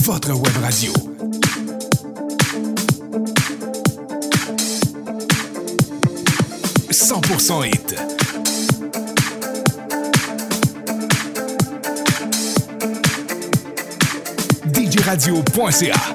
votre web radio. « 100% hit ». djradio.ca.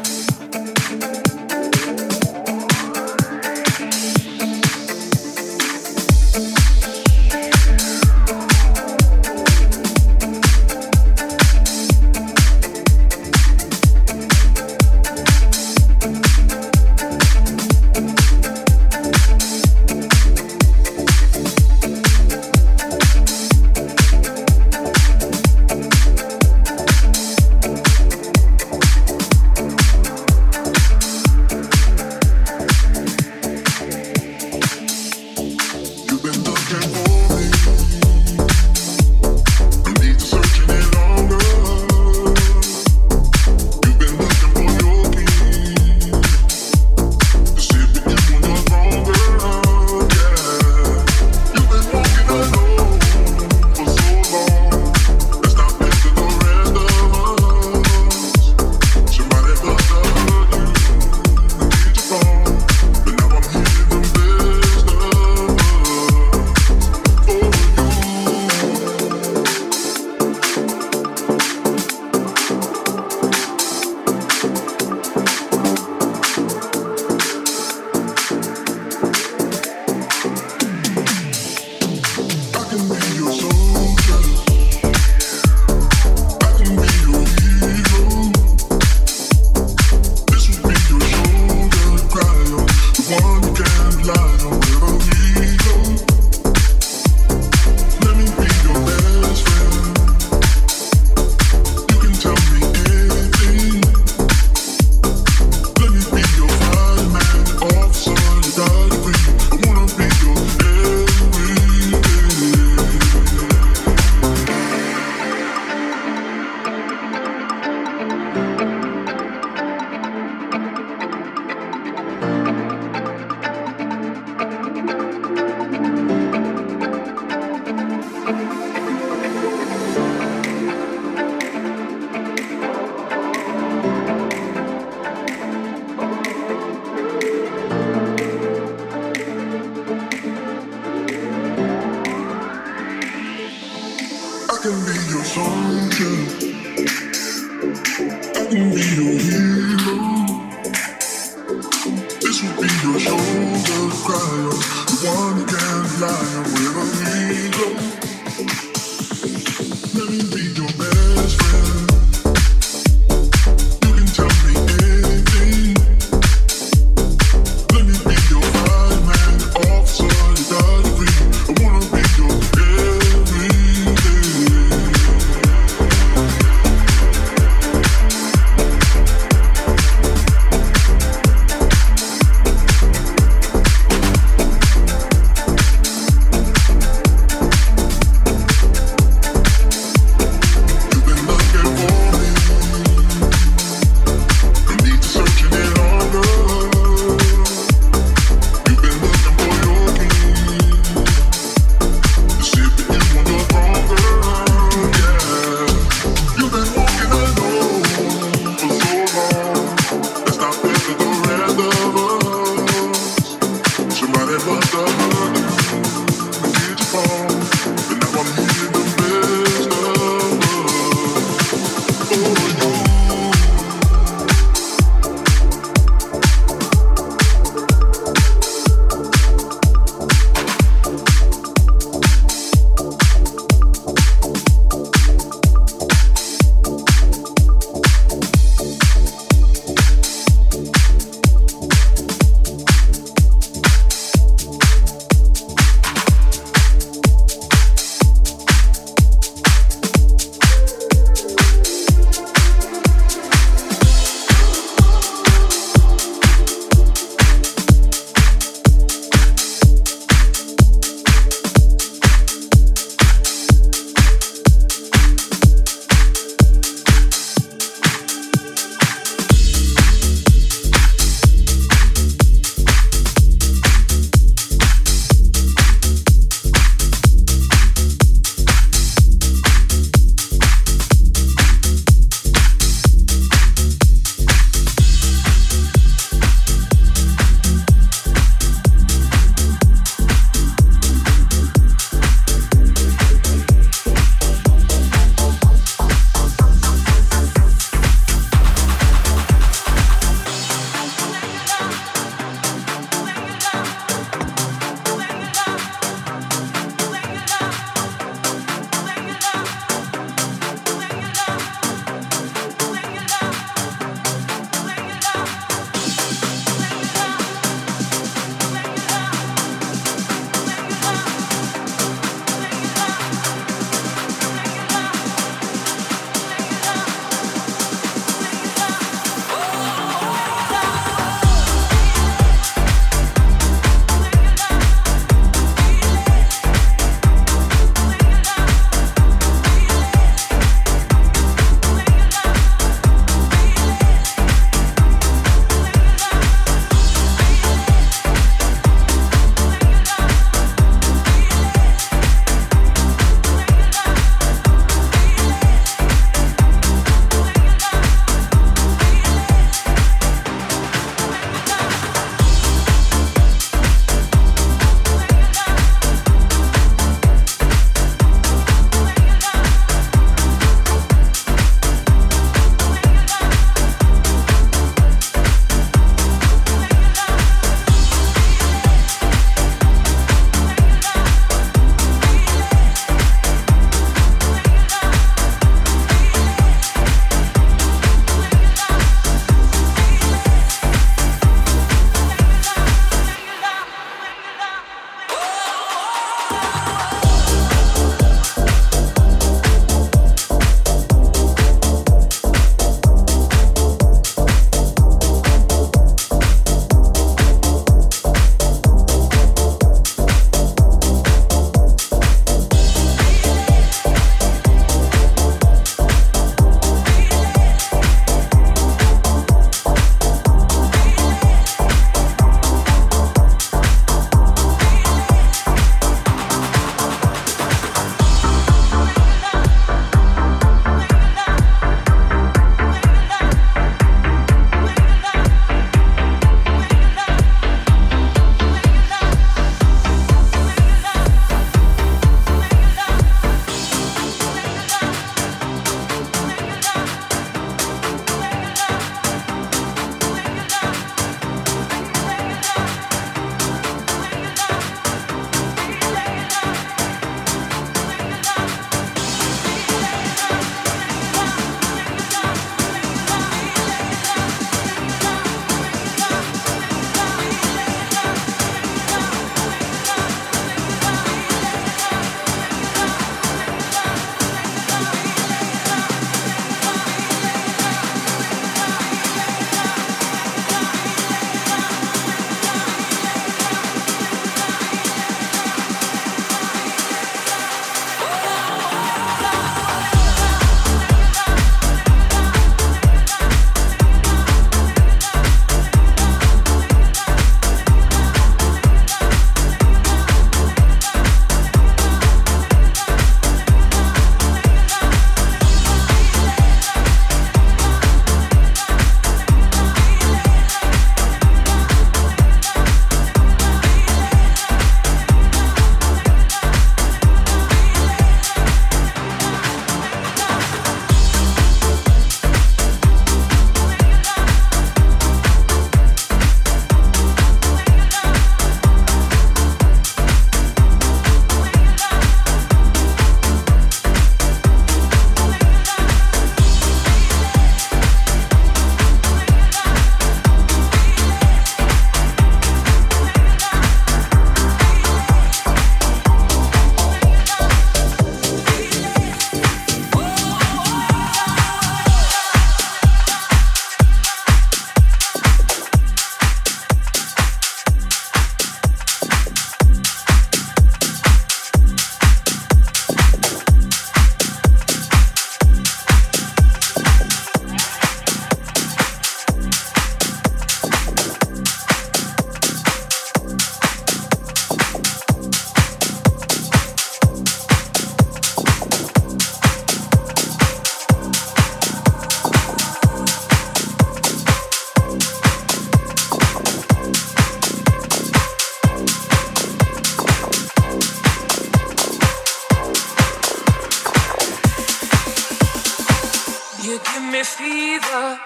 me fever.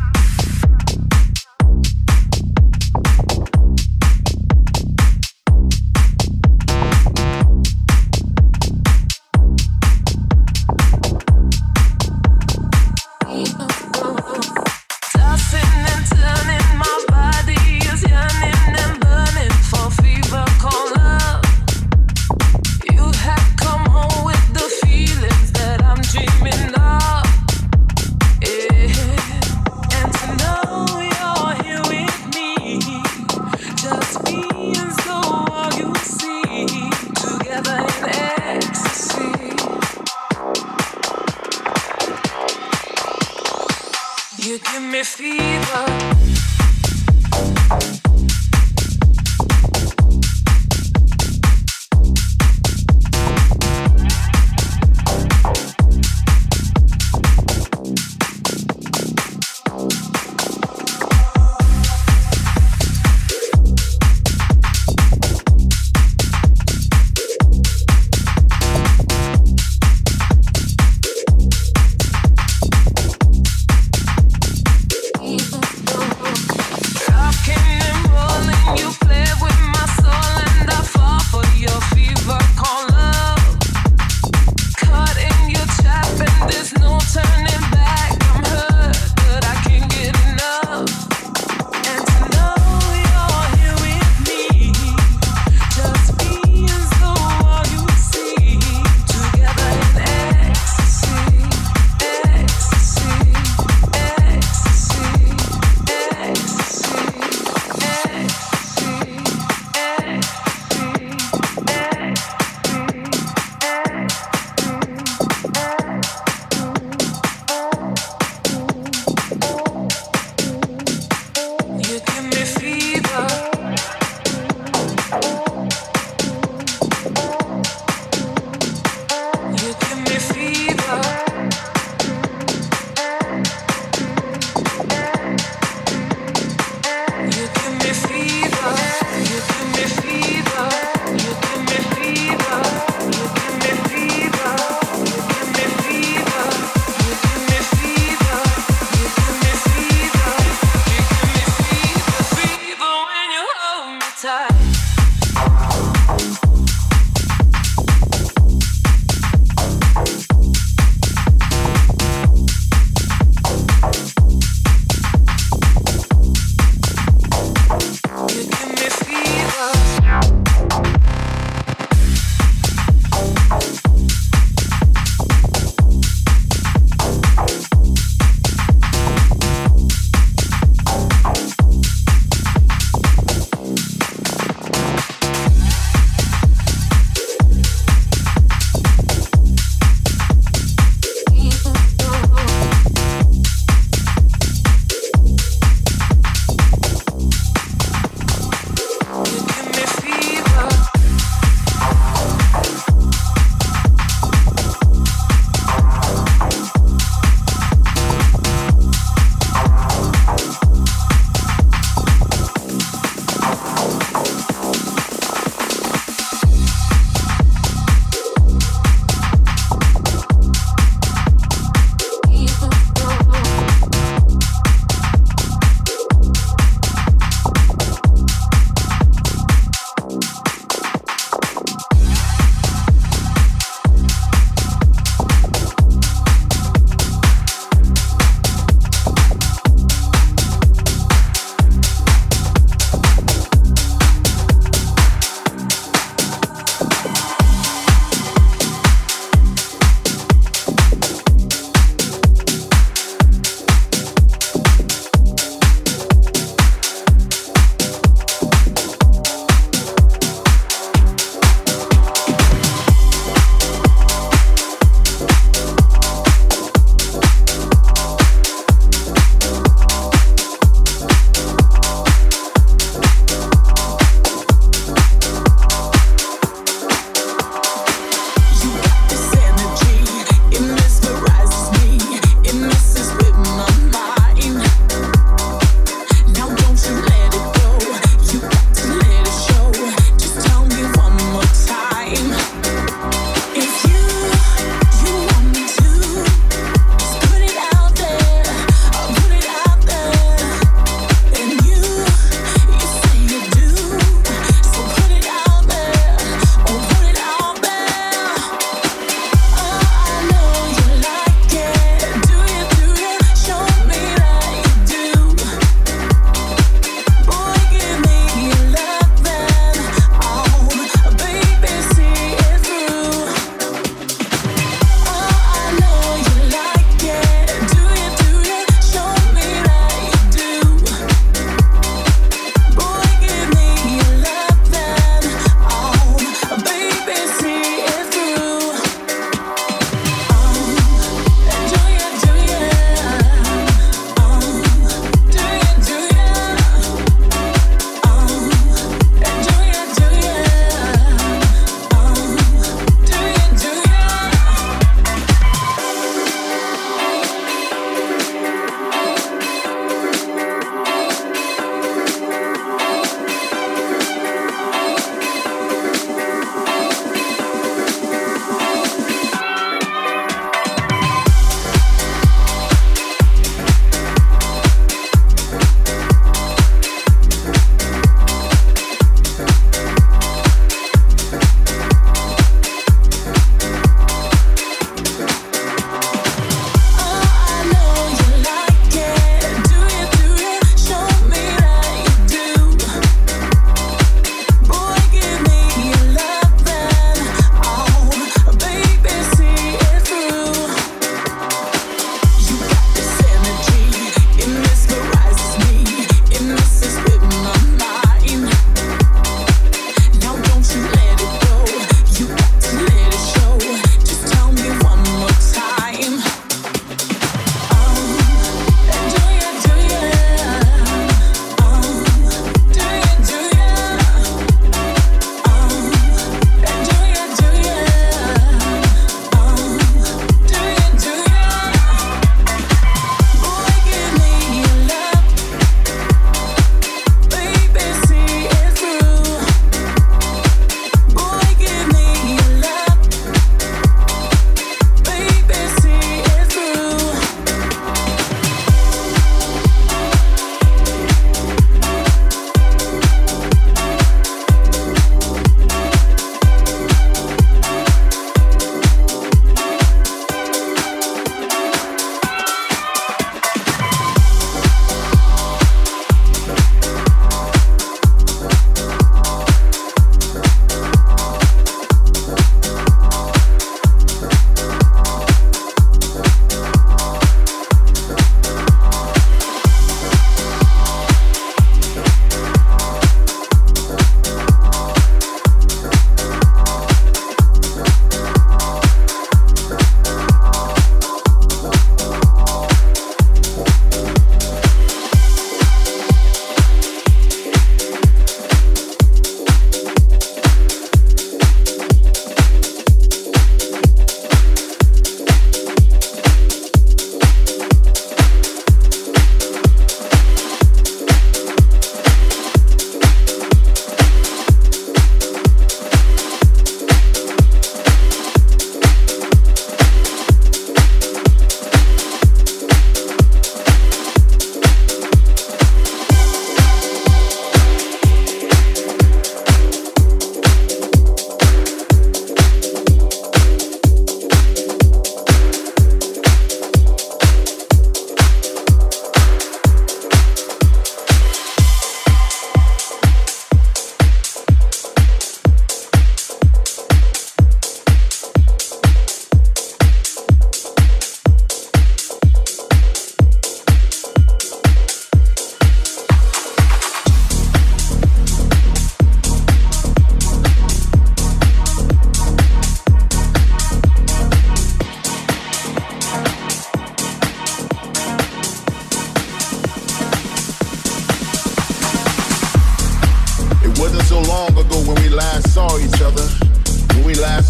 You give me fever.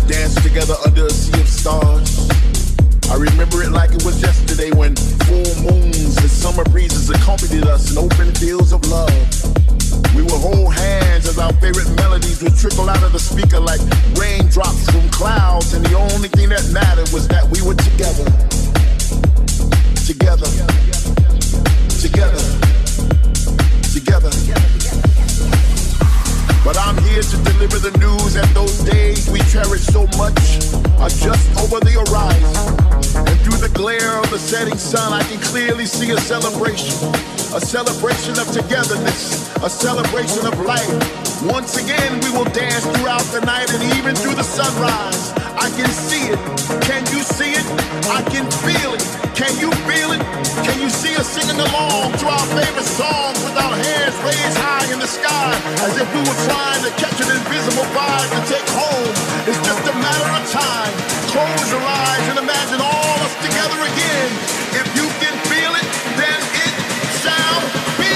danced together under a sea of stars. I remember it like it was yesterday when full moons and summer breezes accompanied us in open fields of love. We would hold hands as our favorite melodies would trickle out of the speaker like raindrops from clouds, and the only thing that mattered was that we were together. Together. Together. Together. But I'm here to deliver the news that those days we cherish so much are just over the horizon. And through the glare of the setting sun, I can clearly see a celebration of togetherness, a celebration of life. Once again, we will dance throughout the night and even through the sunrise. I can see it. Can you see it? I can feel it. Can you feel it? Can you see us singing along to our favorite songs with our hands raised high in the sky as if we were trying to catch an invisible vibe to take home? It's just a matter of time. Close your eyes and imagine all us together again. If you can feel it, then it shall be.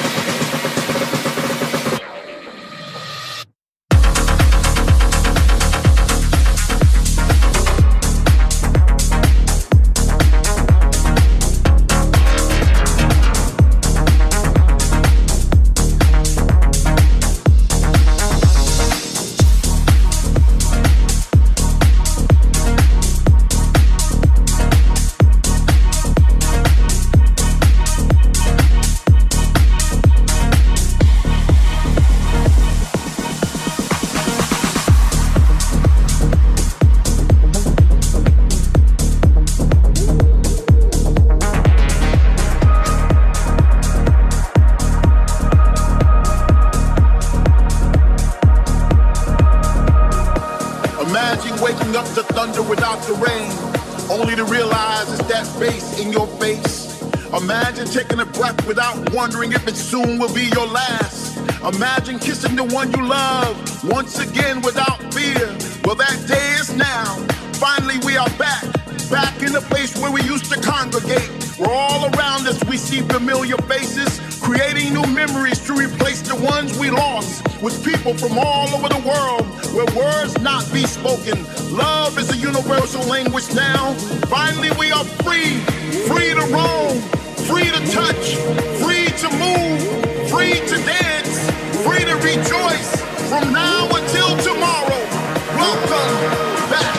Imagine taking a breath without wondering if it soon will be your last. Imagine kissing the one you love once again without fear. Well, that day is now. Finally, we are back in the place where we used to congregate. Where all around us we see familiar faces, creating new memories to replace the ones we lost. With people from all over the world, where words not be spoken. Love is a universal language now. Finally, we are free to roam. Free to touch, free to move, free to dance, free to rejoice from now until tomorrow. Welcome back.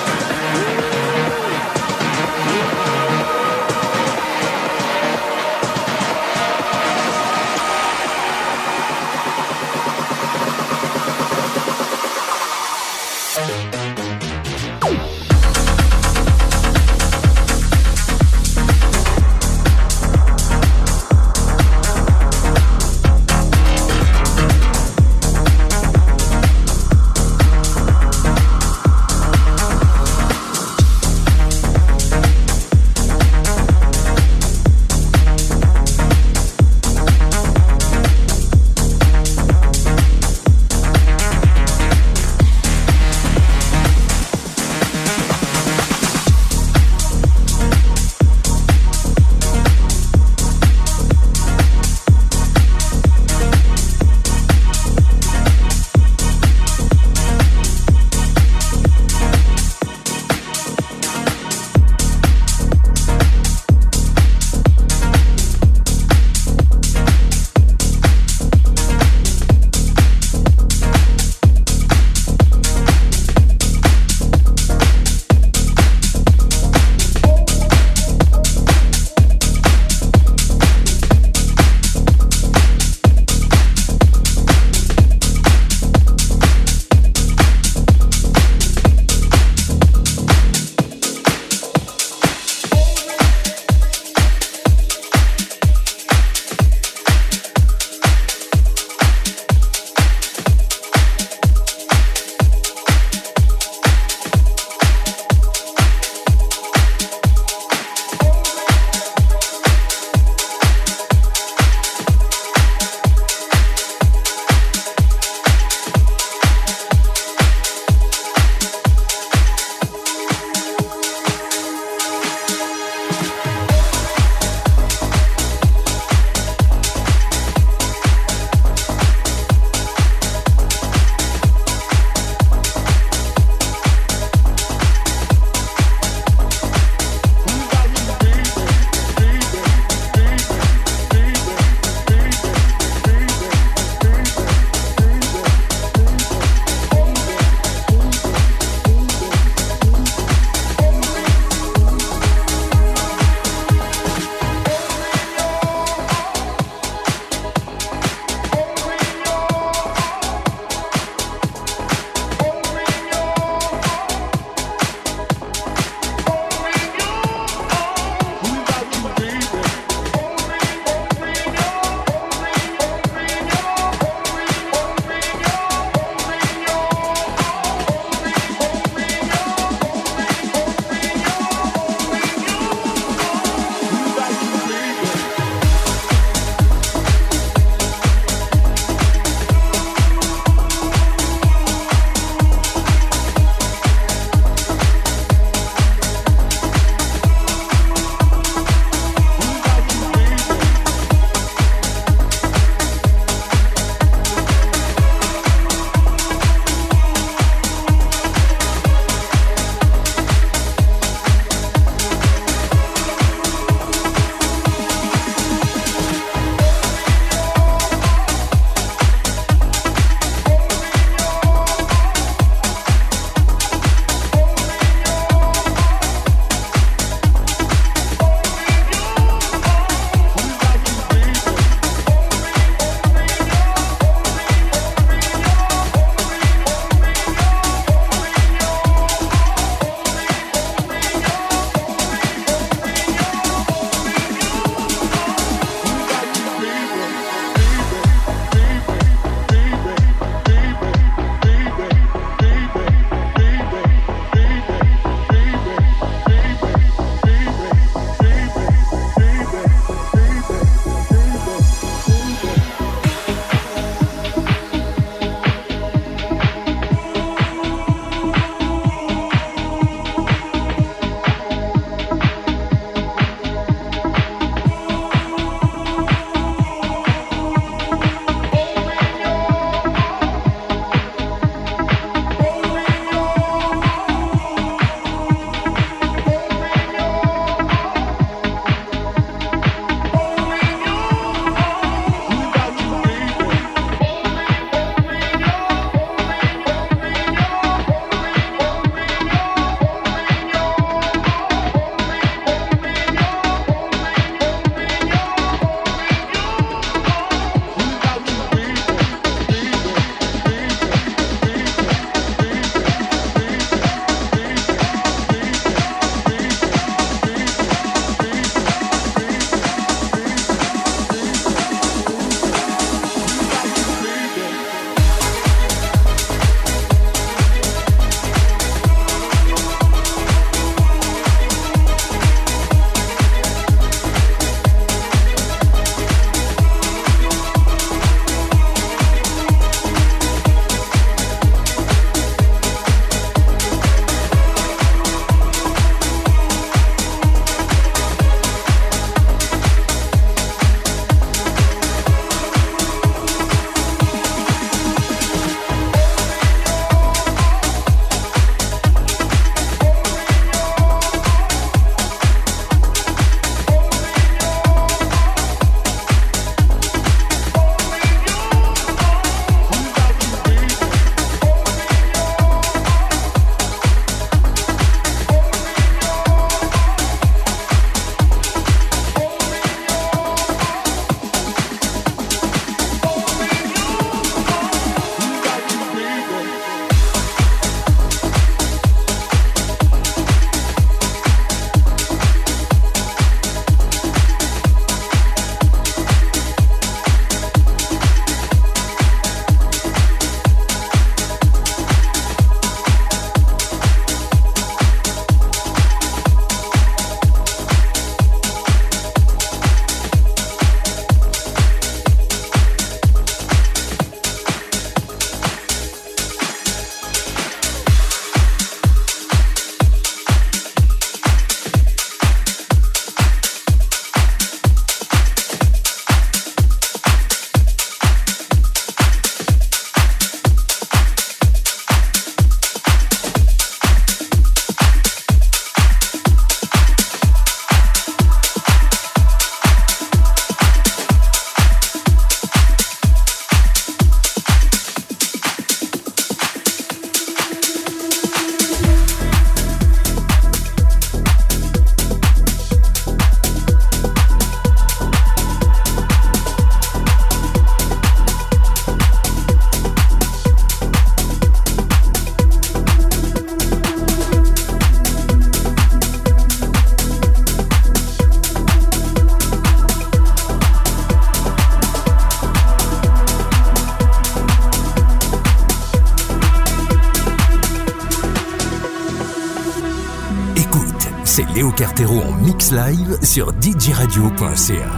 c'est Léo Cartero en mix live sur djradio.ca.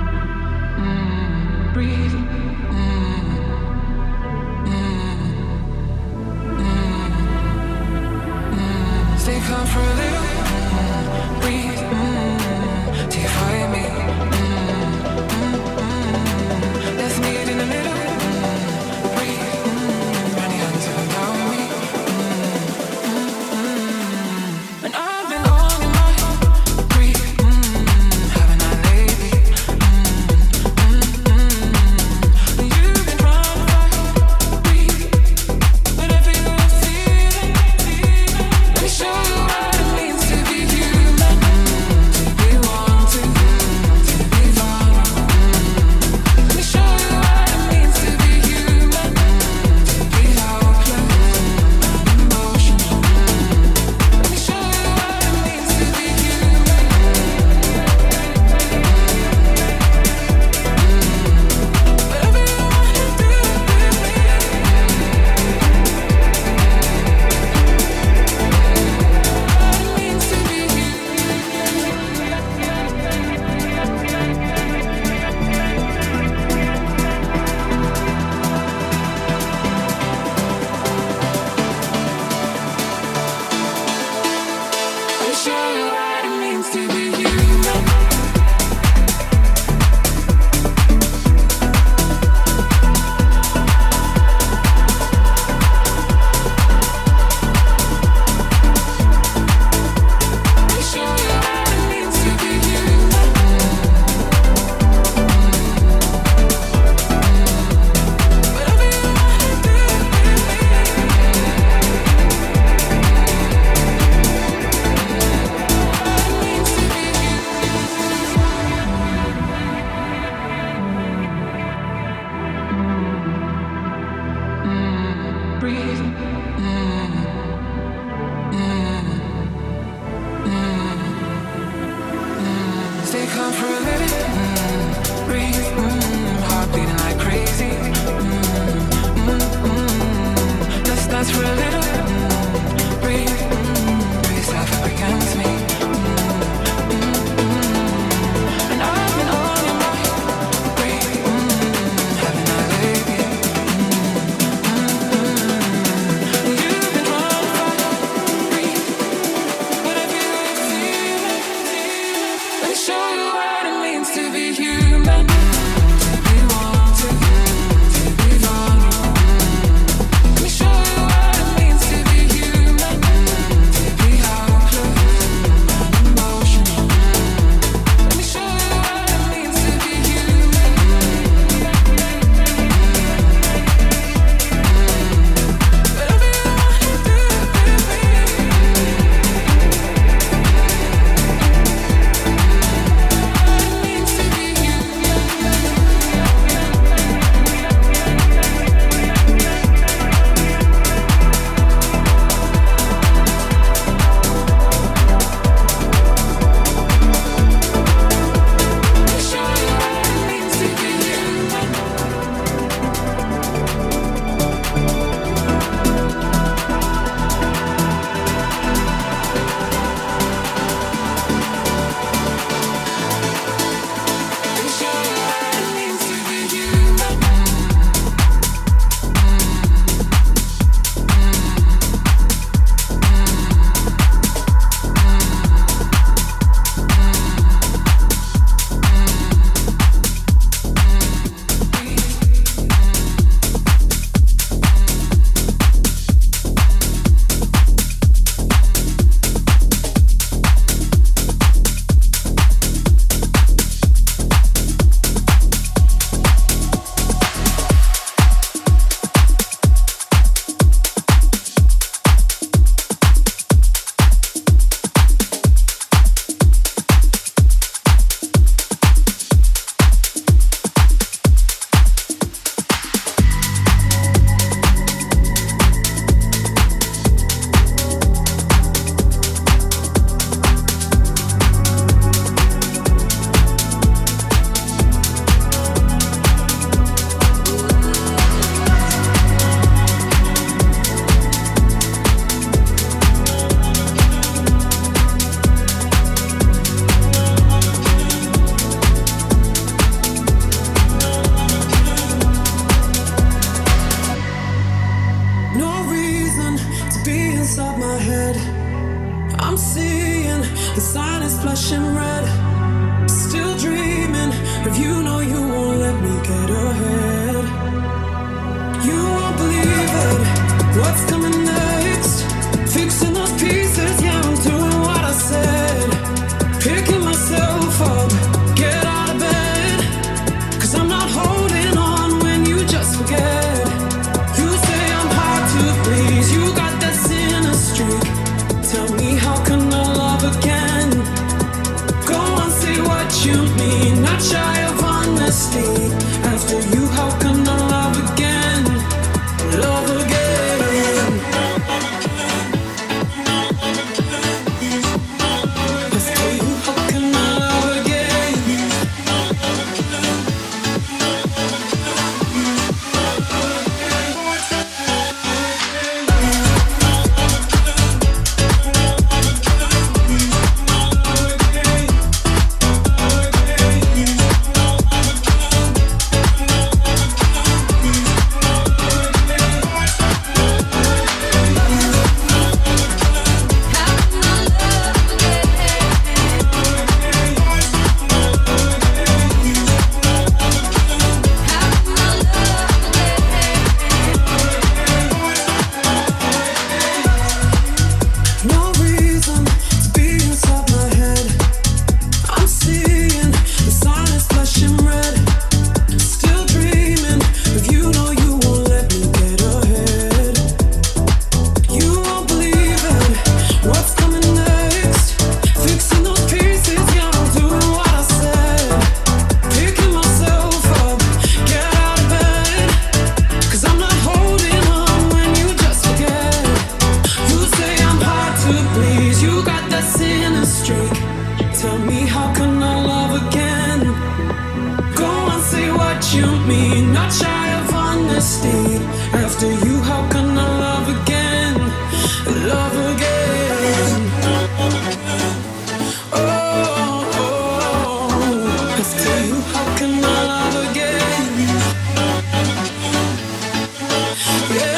Stay calm for a little. Breathe. Till you find me. Let's meet in the middle. Breathe. Run your hands around me. And I've been all in my grief. Haven't I lately? inside my head. I'm seeing the sign is flashing red. Still dreaming of you, know you won't let me get ahead. You won't believe it, what's coming next. Fixing those pieces, yeah, I'm doing what I said. Picking myself up, get out of bed. Cause I'm not holding on when you just forget. You say I'm hard to please, you got that sinner streak. Tell me how can I love again? Go on, say what you mean, not shy of honesty. After you, how can I love again? Love again. After you, how can I love again? No reason to be inside my head. I'm seeing the sign is flashing red. Still dreaming of you, know you won't let me get ahead. You won't believe it, what's coming next. Fixing those pieces, yeah, I'm doing what I said. Picking myself up, get out of bed. Cause I'm not holding on when you just forget. You say I'm hard to please, you got that sinner streak. Tell me how can I love again? Go on, say what you mean, not shy of honesty. After you, how can I love again? Love again. Oh, after you, how can I love again? Yeah.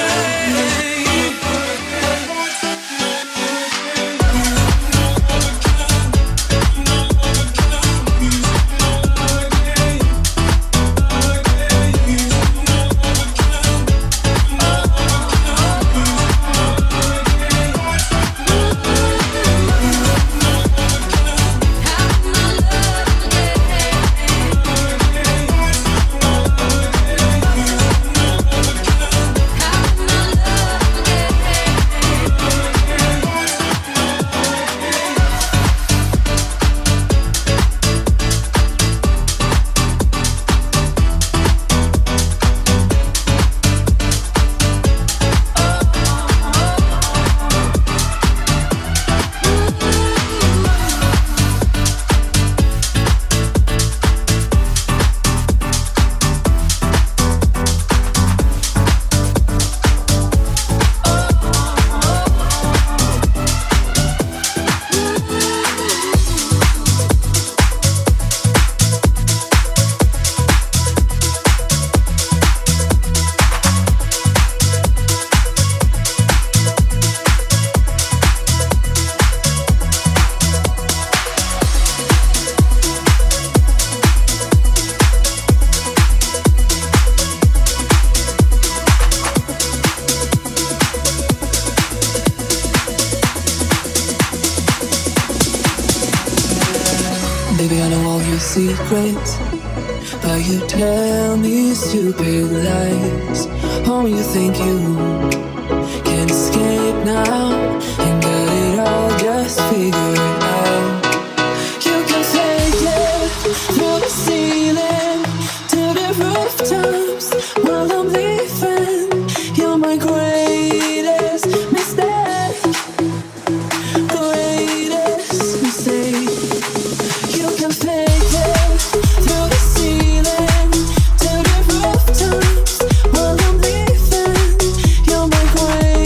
Baby, I know all your secrets, but you tell me stupid lies. Oh, you think you can escape now and got it all just figured out. You can take it through the ceiling to the rooftops while I'm leaving. You're my greatest mistake, greatest mistake. You can fake it through the ceiling to the rooftops while I'm leaving. You're my greatest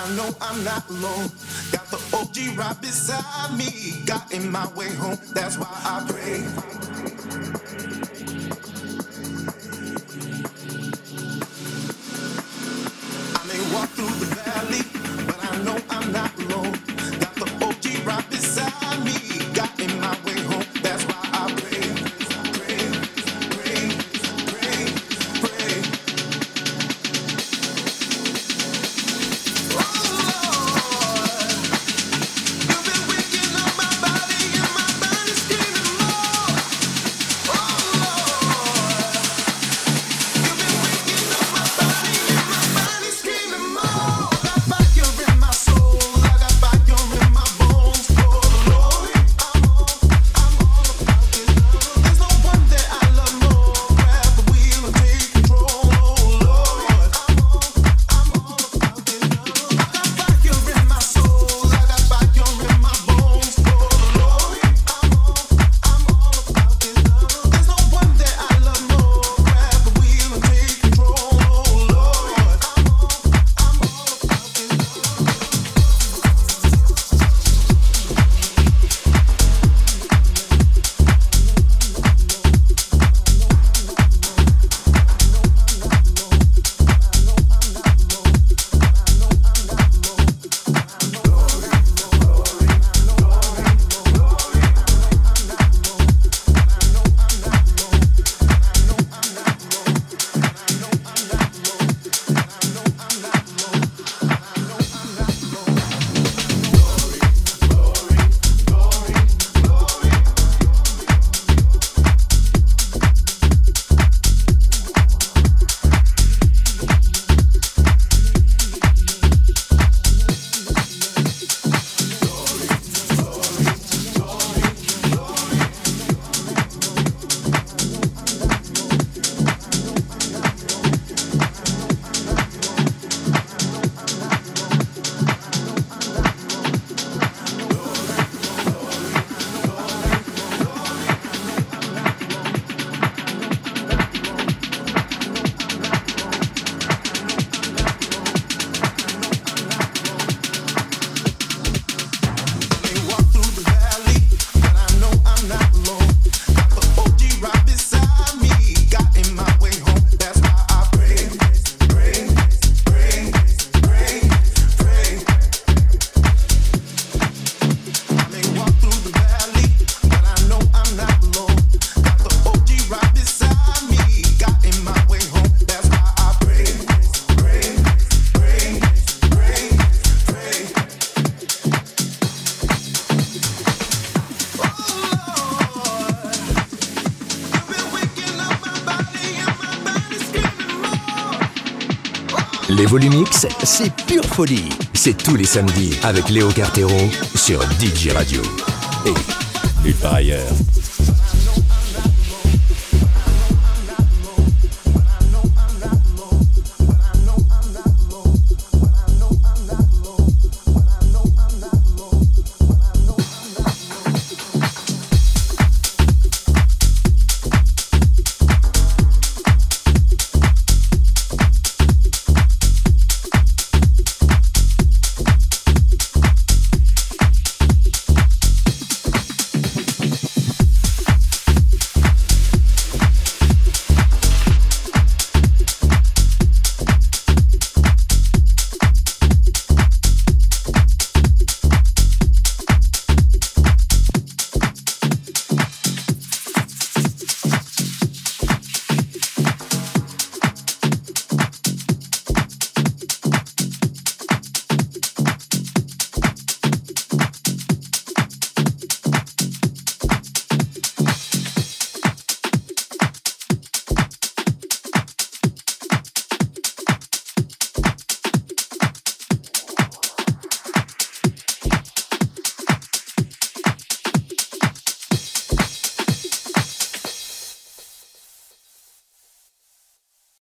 I know I'm not alone. Got the OG right beside me, got in my way home. That's why I pray. I may walk through the valley, but I know I'm not alone. Got the OG right beside me, got in my way home. That's why I pray. Les Volumix, c'est pure folie. C'est tous les samedis avec Léo Cartero sur DJ Radio. Et nulle part ailleurs.